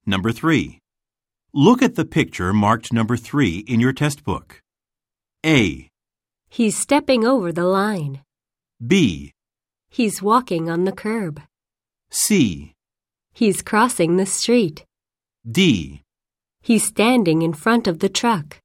Number 3. Look at the picture marked number 3 in your test book. A. He's stepping over the line. B. He's walking on the curb. C. He's crossing the street. D. He's standing in front of the truck.